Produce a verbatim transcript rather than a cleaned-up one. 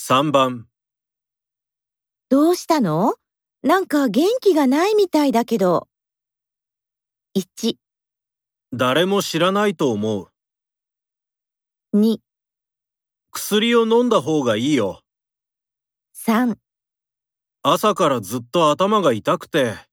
さんばん。 どうしたの？なんか元気がないみたいだけど。いち、 誰も知らないと思う。 に、 薬を飲んだ方がいいよ。 さん。 朝からずっと頭が痛くて。